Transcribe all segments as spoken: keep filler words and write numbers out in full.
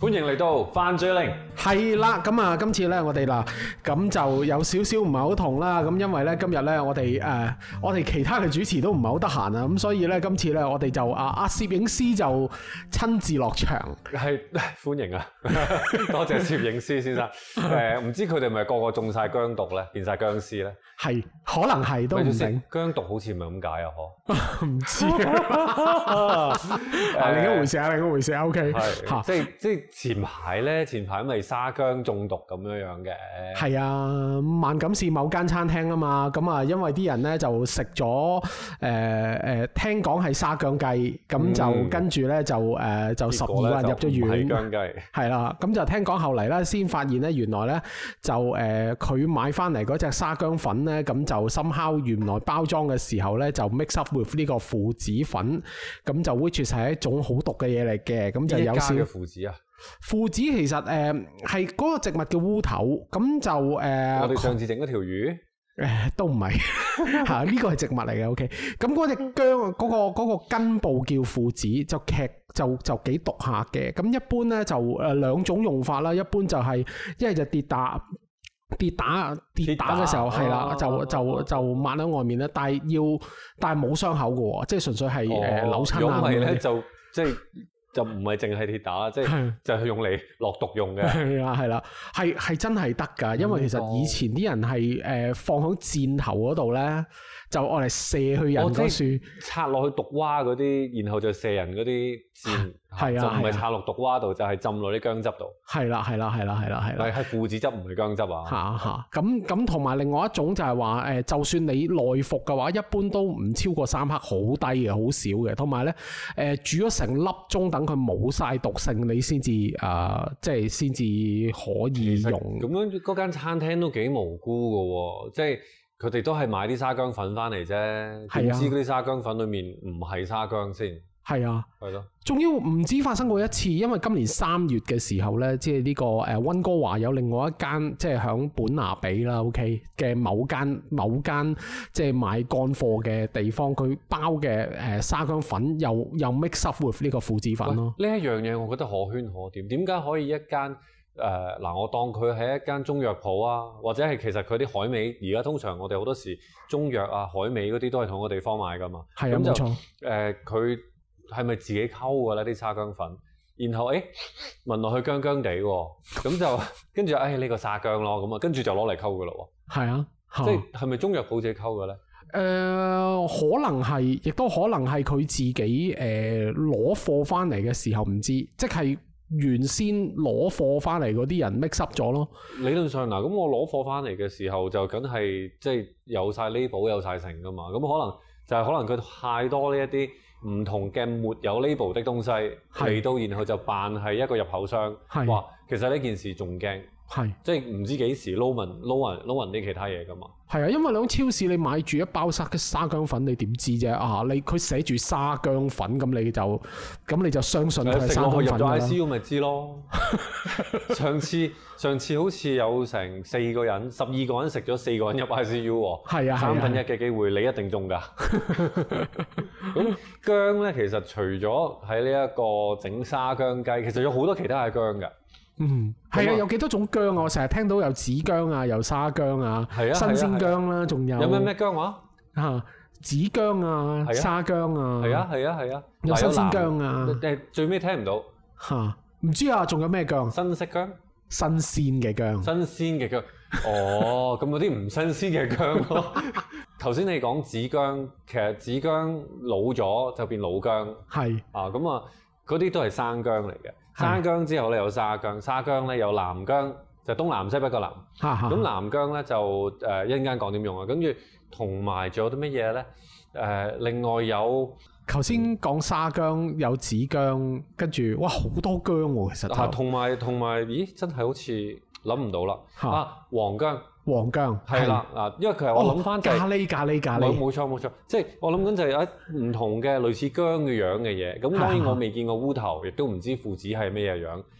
歡迎嚟到犯罪令。 係啦，咁啊，今次咧我哋嗱，咁就有少少唔係好同啦。咁因為咧今日咧我哋誒、呃，我哋其他嘅主持都唔係好得閒啊，咁所以咧今次咧我哋就啊阿攝影師就親自落場。係歡迎啊，多謝攝影師先生。誒、呃，唔知佢哋咪個個中晒姜毒咧，變晒僵屍咧？係， 可能係都唔定。 姜毒好似唔係咁解啊，嗬？ 唔知啊，啊另一回事啊，另一回事啊。O K， 係，即係即係前排咧，前排咪沙姜中毒咁樣樣嘅。 係啊，萬錦市某間餐廳啊嘛，咁啊，因為啲人咧就食咗誒誒，聽講係沙姜雞，咁就、嗯、跟住咧就誒、呃、就十二個人入咗院。係姜雞。係啦，咁就聽講後嚟咧，先發現咧，原來咧就誒佢、呃、買翻嚟嗰隻沙姜粉咧，咁就深烤原來包裝嘅時候咧，就 mix up with 呢個附子粉，咁就 which 係一種好毒嘅嘢嚟嘅，咁就有少少附子啊。 附子其實誒係嗰個植物嘅烏頭，咁就誒、呃、 我哋上次整嗰條魚誒、 呃、都唔係嚇，呢個係植物嚟嘅。OK，咁嗰隻姜嗰、嗰個嗰個根部叫附子，就劇就就幾毒下嘅。咁一般咧就誒兩種用法啦，一般就係一係就跌打。跌打跌打嘅時候係啦，就就就抹喺外面咧，但係要但係冇傷口嘅喎，即係純粹係誒、哦呃、扭親啊。如果唔係咧，就即係就唔係淨係跌打，即係就係用嚟落毒用嘅。係啦係啦，係係真係得㗎，因為其實以前啲人係誒、呃、放喺箭頭嗰度咧，就愛嚟射去人嗰樹，插落去毒蛙嗰啲，然後就射人嗰啲箭。係啊，就唔係插落毒蛙度，就係、是、浸落啲薑汁度。係啦，係啦，係啦，係啦，係啦。係附子汁，唔係薑汁啊。嚇嚇，咁咁同埋另外一種就係話誒，就算你內服嘅話，一般都唔超過三克，好低嘅，好少嘅。同埋咧誒，煮咗成粒鐘，等佢冇晒毒性，你先至誒，即係先至可以用。咁樣嗰間餐廳都幾無辜嘅喎，即係佢哋都係買啲沙薑粉翻嚟啫，點知嗰啲沙薑粉裡面唔係沙薑先？係啊，係咯，仲要唔止發生過一次，因為今年三月嘅時候咧，即係呢個誒溫哥華有另外一間，即係響本拿比啦 ，OK 嘅某間某間即係買乾貨嘅地方，佢包嘅誒沙薑粉又又 mix up with 呢個附子粉咯。呢一樣嘢我覺得可圈可點，點解可以一間誒嗱？我當佢係一間中藥鋪啊，或者係其實佢啲海味，而家通常我哋好多時中藥啊、海味嗰啲都係同個地方買噶嘛。係啊，冇錯。誒佢。係咪自己溝㗎咧啲沙薑粉？然後誒聞落去薑薑地喎，咁就跟住誒呢個沙薑咯，咁啊跟住就攞嚟溝㗎咯喎。係啊，即係係咪中藥鋪自己溝嘅咧？誒、呃、可能係，亦都可能係佢自己誒攞貨翻嚟嘅時候唔知，即係原先攞貨翻嚟嗰啲人 mix up 咗咯。理論上嗱，咁我攞貨翻嚟嘅時候就梗係即係有晒 label 有晒成㗎嘛，咁可能就係可能佢太多呢一啲唔同嘅沒有 label 的東西嚟到，然後就扮係一個入口商。哇，其實呢件事仲驚，即係唔知幾時撈勻撈勻撈勻啲其他嘢噶嘛。係啊，因為你喺超市你買住一包沙沙薑粉，你點知啫？啊，你佢寫住沙薑粉，咁你就咁你就相信佢係沙薑粉啦。入咗 I C U 咪知咯。上次上次好似有成四個人，十二個人食咗四個人入 I C U 喎。係啊，三分一嘅機會，你一定中㗎。咁薑咧，其實除咗喺呢一個整沙薑雞，其實有好多其他嘅薑㗎。嗯，係啊，有幾多種薑啊？我成日聽到有紫薑啊，有沙薑啊，係啊，新鮮薑啦，仲有有咩咩薑話？嚇，紫薑啊，沙薑啊，係啊係啊係啊，有新鮮薑啊。誒，最尾聽唔到嚇，唔知啊，仲有咩薑？新式薑，新鮮嘅薑，新鮮嘅薑。哦，咁有啲唔新鮮嘅薑咯。頭先你講紫薑，其實紫薑老咗就變老薑，係啊，咁啊，嗰啲都係生薑嚟嘅。生薑之後咧有沙薑，沙薑咧有南薑，就東南西北個南。咁南薑咧就誒一陣間講點用啊，跟住同埋仲有啲乜嘢咧？誒，另外有頭先講沙薑有紫薑，跟住哇好多薑喎，其實。啊，同埋同埋，咦，真係好似諗唔到啦。啊，黃薑。黃薑係啦，啊，因為其實我諗翻就係咖喱咖喱咖喱，冇錯冇錯，即係我諗緊就係一唔同嘅類似薑嘅樣嘅嘢。咁當然我未見過烏頭，亦都唔知附子係咩嘢樣。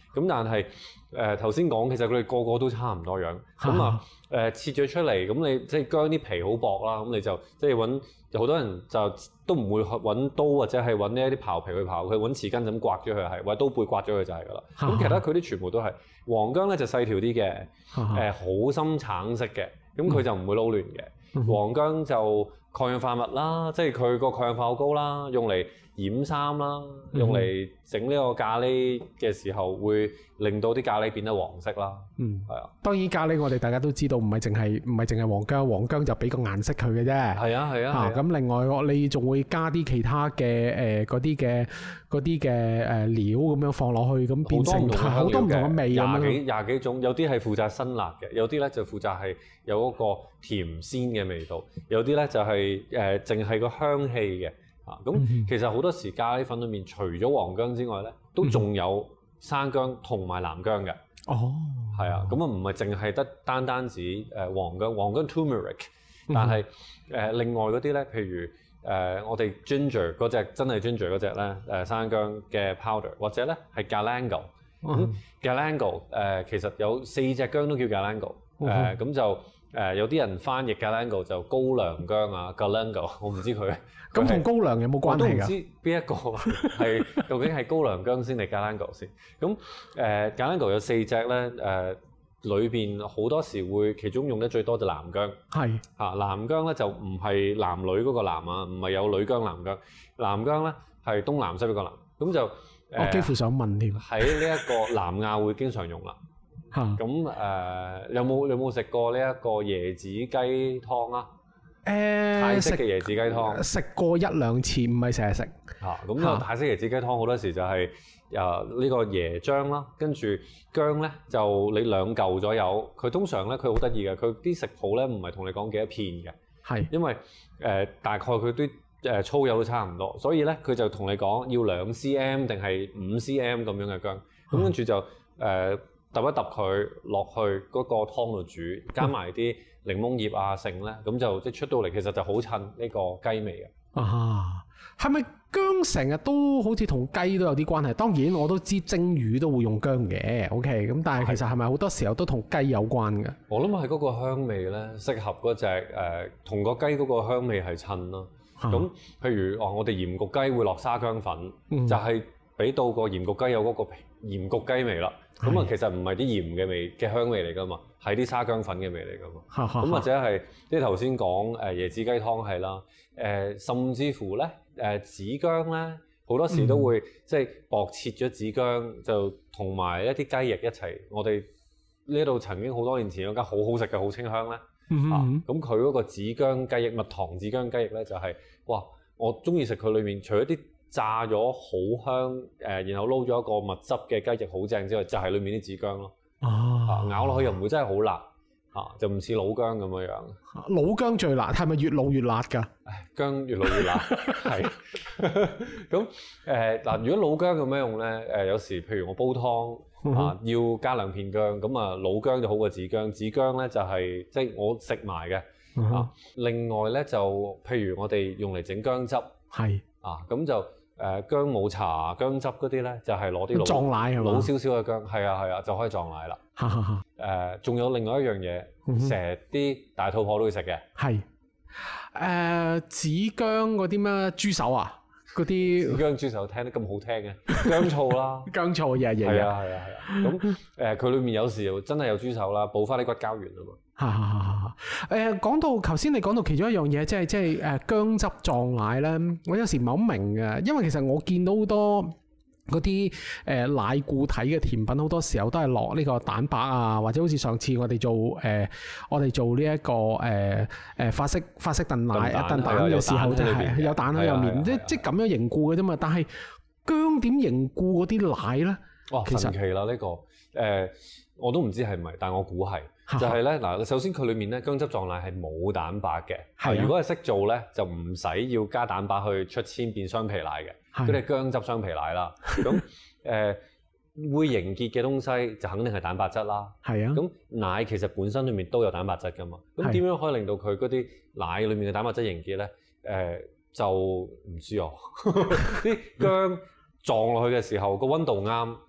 咁但係誒頭先講，其實佢哋個個都差唔多樣。咁啊誒切咗出嚟，咁你即係薑啲皮好薄啦，咁你就即係揾好多人就都唔會揾刀或者係揾呢一啲刨皮去刨，佢揾匙羹就咁刮咗佢係，或者刀背刮咗佢就係㗎啦。咁其他佢啲全部都係黃薑咧就細條啲嘅，誒好深橙色嘅，咁佢就唔會撈亂嘅。黃薑就抗氧化物啦，即係佢個抗氧化好高啦，用嚟染衫啦，用嚟整呢個咖喱嘅時候會令到啲咖喱變得黃色啦。嗯，係啊。當然咖喱我哋大家都知道唔係淨係唔係淨係黃薑，黃薑就俾個顏色佢嘅啫。係啊係啊。嚇咁、啊、另外你仲會加啲其他嘅誒嗰啲嘅嗰啲嘅誒料咁樣放落去，咁變成好多唔同嘅味咁樣。廿幾廿幾種，有啲係負責辛辣嘅，有啲咧就負責係有嗰個甜鮮嘅味道，有啲咧就係誒淨係個香氣嘅。咁、嗯、其實好多時咖喱粉裏面除咗黃薑之外咧，都仲有生薑同埋南薑嘅。哦，係啊，咁啊唔係淨係得單單止誒黃薑，黃薑 turmeric， 但係誒、嗯呃、另外嗰啲咧，譬如誒、呃、我哋 ginger 嗰隻真係 ginger 嗰隻咧，誒生薑嘅 powder， 或者咧係 galangal。咁 galangal 誒其實有四隻薑都叫 galangal， 誒咁就。誒、呃、有啲人翻譯 galangal 就高粱薑啊 galangal， 我唔知佢咁同高粱有冇關係㗎？我都唔知邊一個係究竟係高粱薑先定 galangal 先。咁誒 galangal 有四隻咧，誒裏邊好多時會其中用得最多就南薑。係嚇、啊、南薑咧就唔係男女嗰個男啊，唔係有女薑南薑。南薑咧係東南西北個南，咁就、呃、我幾乎想問添喺呢一個南亞會經常用啦。咁誒、呃、有冇有冇食過呢一個椰子雞湯啊？誒、呃，泰式嘅椰子雞湯食過一兩次，唔係成日食。嚇，咁個泰式椰子雞湯好多時就係誒呢個椰漿啦，跟住薑咧就你兩嚿左右。佢通常咧佢好得意嘅，佢啲食譜咧唔係同你講幾多片嘅，係因為誒、呃、大概佢啲誒粗幼都差唔多，所以咧佢就同你講要兩 cm 定係五 cm 咁樣嘅薑，咁跟住就誒。呃揼一揼佢落去嗰個湯度煮，加埋啲檸檬葉啊剩咧，咁就即係出到嚟，其實就好襯呢個雞味嘅。啊，係咪薑成日都好似同雞都有啲關係？當然我都知蒸魚都會用薑嘅，OK，咁但係其實係咪好多時候都同雞有關嘅？我諗係嗰個香味咧，適合嗰隻誒同個雞嗰個香味係襯咯。咁、啊、譬如話我哋鹽焗雞會落沙薑粉，嗯、就係、是、俾到個鹽焗雞有嗰個鹽焗雞味啦。咁啊，其實唔係啲鹽嘅味嘅香味嚟噶嘛，係啲沙薑粉嘅味嚟噶嘛。咁或者係即係頭先講誒椰子雞湯係啦，誒、呃、甚至乎咧誒紫薑咧，好多時都會、嗯、即係薄切咗紫薑，就同埋一啲雞翼一齊。我哋呢度曾經好多年前有間好好食嘅好清香咧，嗯、啊咁佢嗰個紫薑雞翼蜜糖紫薑雞翼咧就係、是、哇，我中意食佢裏面除咗啲炸咗好香，誒，然後撈咗一個蜜汁嘅雞翼好正之外，就係、是、裏面啲紫薑咯。啊，咬落去又唔會真係好辣，啊，就唔似老薑咁樣樣。老薑最辣，係咪越老越辣㗎？唉，薑越老越辣，係。咁誒嗱，如果老薑咁樣用咧，誒、呃、有時譬如我煲湯啊，要加兩片薑，咁啊老薑就好過紫薑，紫薑咧就係即係我食埋嘅。啊，另外咧就譬如我哋用嚟整薑汁，係啊，咁就。誒、呃、薑母茶、薑汁嗰啲咧，就係攞啲老撞奶係嘛，老少少嘅薑，係啊係啊，就可以撞奶啦。誒，仲有另外一樣嘢，成日啲大肚婆都會食嘅，係誒紫薑嗰啲咩豬手啊，嗰啲紫薑豬手聽得咁好聽嘅薑醋啦，薑醋嘢嘢係啊係啊係啊。咁誒佢裏面有時又真係有豬手啦，補翻啲骨膠原啊嘛。哈哈哈哈！誒講到頭先，你講到其中一樣嘢，即係即係誒薑汁撞奶咧，我有時唔係好明嘅，因為其實我見到好多嗰啲誒奶固體嘅甜品，好多時候都係落呢個蛋白啊，或者好似上次我哋做誒、呃、我哋做呢、這、一個誒誒、呃、法式法式燉奶燉蛋嘅時候，就係有蛋喺入面，即即咁樣凝固嘅啫嘛。但係薑點凝固嗰啲奶咧？哇！其實神奇啦呢、這個誒、呃，我都唔知係唔係，但我估係。就係咧嗱，首先佢裏面咧薑汁撞奶係冇蛋白嘅，係、啊、如果係識做咧，就唔使要加蛋白去出千變雙皮奶嘅，嗰啲係薑汁雙皮奶啦。咁誒、呃、會凝結嘅東西就肯定係蛋白質啦。係啊，咁奶其實本身裏面都有蛋白質噶嘛。咁點樣可以令到佢嗰啲奶裏面嘅蛋白質凝結咧？誒、呃、就唔知哦。啲薑撞落去嘅時候個溫度啱，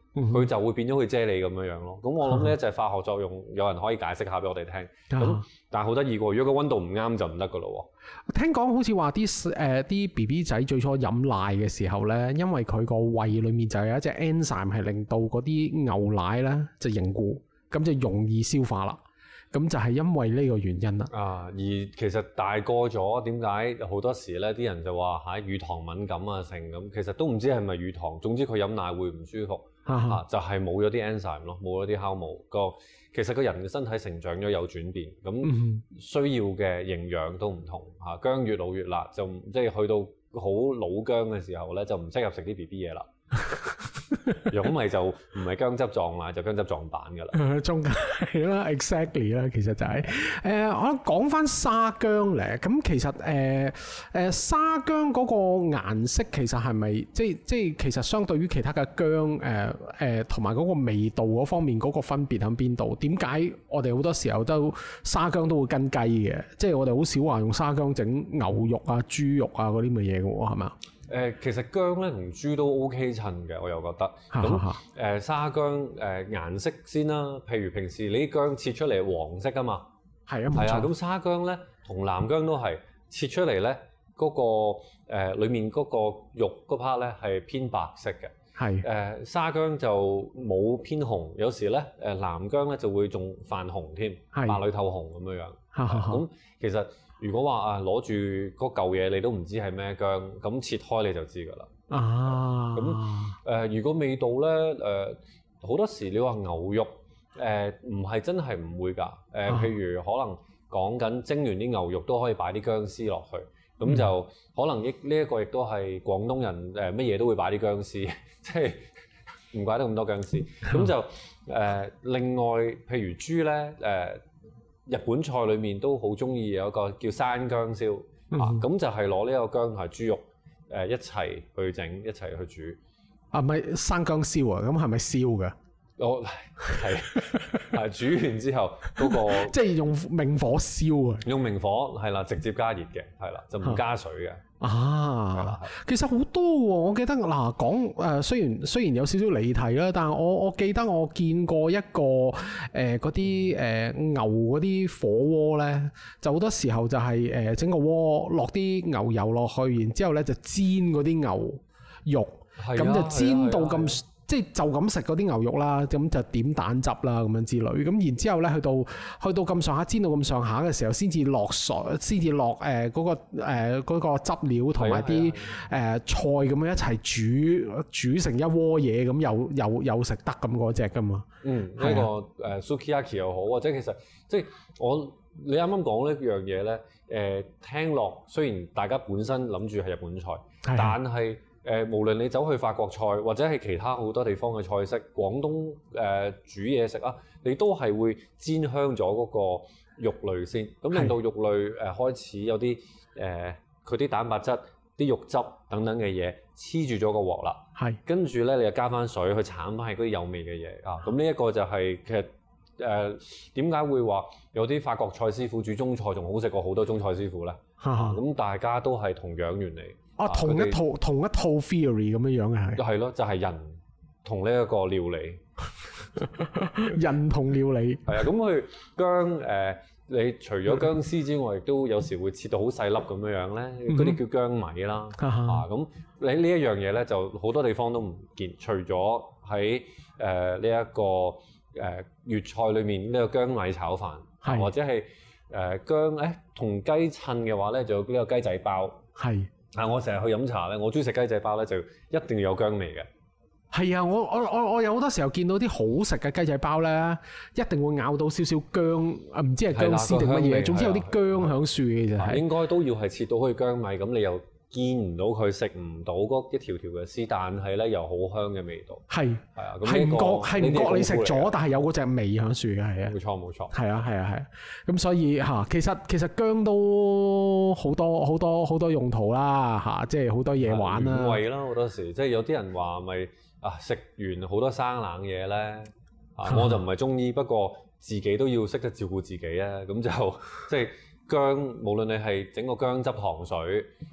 佢就會變咗去啫喱咁樣樣咯。咁我諗呢就係化學作用，有人可以解釋下俾我哋聽。咁、啊、但係好得意喎，如果個溫度唔啱就唔得噶咯喎。 聽講好似話啲誒啲 B B 仔最初飲奶嘅時候咧，因為佢個胃裡面就有一隻 enzyme 係令到嗰啲牛奶咧就凝固，咁就容易消化啦。咁就係因為呢個原因啦。啊， 而其實大個咗，點解好多時咧啲人就話嚇乳糖敏感啊成咁，其實都唔知係咪乳糖，總之佢飲奶會唔舒服。啊，就係冇咗啲 enzyme 咯，冇咗啲酵母個，其實個人嘅身體成長咗有轉變，咁需要嘅營養都唔同嚇。薑越老越辣，就即係去到好老薑嘅時候咧，就唔適合食啲 B B 嘢啦。如果咪就唔係薑汁撞奶，就薑汁撞蛋噶啦。 中間係啦 ，exactly 啦，其實就係、是、誒、呃，我講翻沙薑咧，咁其實誒誒、呃、沙薑嗰個顏色其實係咪即係即係其實相對於其他嘅薑誒誒同埋嗰個味道嗰方面嗰個分別喺邊度？點解我哋好多時候都沙薑都會跟雞嘅？即係我哋好少話用沙薑整牛肉啊、豬肉啊嗰啲咁嘅嘢嘅喎，係咪啊？ 誒、呃、其實薑咧同豬都 OK 襯嘅，我又覺得。咁誒、呃、沙薑誒、呃、顏色先啦，譬如平時你啲薑切出嚟黃色㗎嘛， 係啊，冇錯。係啊， 咁沙薑咧同南薑都係切出嚟咧，嗰、那個誒、呃、裡面嗰個肉嗰 part 咧係偏白色嘅。係誒、呃、沙薑就冇偏紅，有時咧誒南薑咧就會仲泛紅添，白裡透紅咁樣樣。咁、呃、其實。如果話啊攞住嗰嚿嘢你都唔知係咩薑，咁切開你就知㗎啦。啊，咁誒、呃、如果味道咧誒好多時你話牛肉誒唔係真係唔會㗎。誒、呃、譬如可能講緊蒸完啲牛肉都可以擺啲薑絲落去，咁、嗯、就可能亦呢一個亦都係廣東人誒乜嘢都會擺啲薑絲，即係唔怪得咁多薑絲。咁就誒、呃、另外譬如豬咧誒。呃日本菜裏面都好中意有一個叫山薑燒，嗯、啊，咁就係攞呢個薑同豬肉誒、呃、一齊去整，一齊去煮。啊，唔係山薑燒啊，咁係咪燒嘅？我係係煮完之後嗰、那個，即係用明火燒啊！用明火係啦，直接加熱嘅，係啦，就唔加水嘅。啊，其實好多喎、哦，我記得嗱講誒，雖然雖然有少少離題啦，但係我我記得我見過一個誒嗰啲誒牛嗰啲火鍋咧，就好多時候就係誒整個鍋落啲牛油落去，然之後咧就煎嗰啲牛肉，咁、啊、就煎到咁。即係就咁食嗰啲牛肉啦，咁就點蛋汁啦咁樣之類，咁然之後咧去到去到咁上下煎到咁上下嘅時候，先至落水，先至落誒嗰個誒嗰、呃嗰個汁料同埋啲誒菜咁樣一齊煮煮成一鍋嘢，咁又又又食得咁嗰隻噶嘛。嗯，呢、呢個誒、呃、sukiyaki 又好，或者其實即係我你啱啱講呢樣嘢咧，誒、呃、聽落雖然大家本身諗住係日本菜，但係。誒、呃，無論你走去法國菜或者係其他好多地方嘅菜式，廣東誒、呃、煮嘢食啊，你都係會煎香咗嗰個肉類先，咁令到肉類誒、呃、開始有啲誒佢啲蛋白質、啲肉汁等等嘅嘢黐住咗個鑊啦。係，跟住咧你就加翻水去鏟翻係嗰啲有味嘅嘢啊。咁呢一個就係、是、其實誒點解會話有啲法國菜師傅煮中菜仲好食過好多中菜師傅咧？咁、啊、大家都係同樣原理。啊，同一套同一套 theory 咁樣樣嘅係，係咯，就係、是、人同呢一個料理，人同料理係啊。咁佢薑誒、呃，你除咗薑絲之外，亦都有時會切到好細粒咁樣樣咧，嗰、嗯、啲叫薑米啦。啊，咁你呢一樣嘢咧，就好多地方都唔見，除咗喺誒呢一個誒粵菜裏面呢個薑米炒飯，啊、或者係誒薑誒同雞襯嘅話咧，就有呢個雞仔包係。啊！我成日去飲茶咧，我中意食雞仔包咧，就一定要有薑味嘅。係啊，我我我我有好多時候見到啲好食嘅雞仔包咧，一定會咬到少少薑，啊唔知係薑絲定乜嘢，總之有啲薑響樹嘅就係。應該都要係切到好似薑米咁，你又見唔到佢，食唔到嗰一條條嘅絲，但係咧又好香嘅味道。係係啊，係唔覺係唔覺你食咗，但係有嗰隻味響樹嘅係啊。冇錯冇錯。係啊係啊係啊，咁所以嚇，其實其實薑都好多好多好多用途啦嚇，即係好多嘢玩啦。原味啦好多時，即係有啲人話咪啊食完好多生冷嘢咧，啊我就唔係中醫，不過自己都要識得照顧自己啊，咁就即係。薑，無論你係整個薑汁糖水，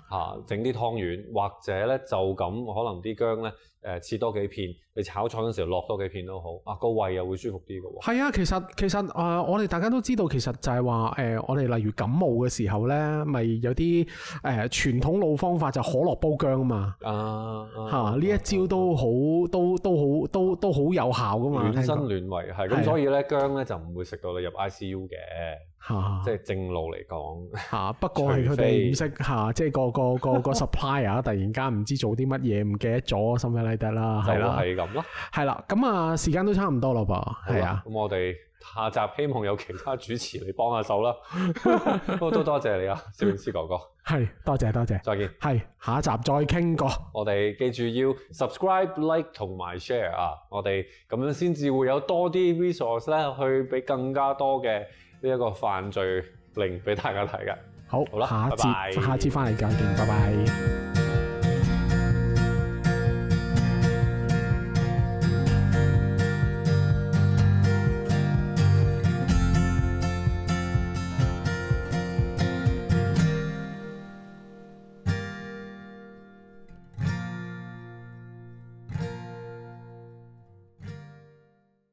嚇整啲湯圓，或者咧就咁可能啲薑咧誒切多幾片，你炒菜嗰陣時候落多幾片都好，啊個胃又會舒服啲嘅喎。係啊，其實其實誒、呃、我哋大家都知道，其實就係話誒我哋例如感冒嘅時候咧，咪有啲誒、呃、傳統老方法就可樂煲薑啊嘛。啊嚇呢、啊、一招都好、啊、都都好都都好有效噶嘛。暖身暖胃係咁，所以咧薑咧就唔會食到你入 I C U 嘅。嚇，即係正路嚟講嚇，不過係佢哋唔識嚇，即係個個個個 supplier 突然間唔知做啲乜嘢，唔記得咗，something like that啦，係啦，係咁咯，係啦，咁啊時間都差唔多啦噃，係啊，咁我哋下集希望有其他主持嚟幫下手啦，都都多謝你啊，攝影師哥哥，係多謝多謝，再見，係下一集再傾過，我哋記住要 subscribe、like 同埋 share 啊，我哋咁樣先至會有多啲 resource 咧，去俾更加多嘅呢一個犯罪令俾大家睇嘅。好，好啦，下一節，拜拜，下一節翻嚟再見，拜拜。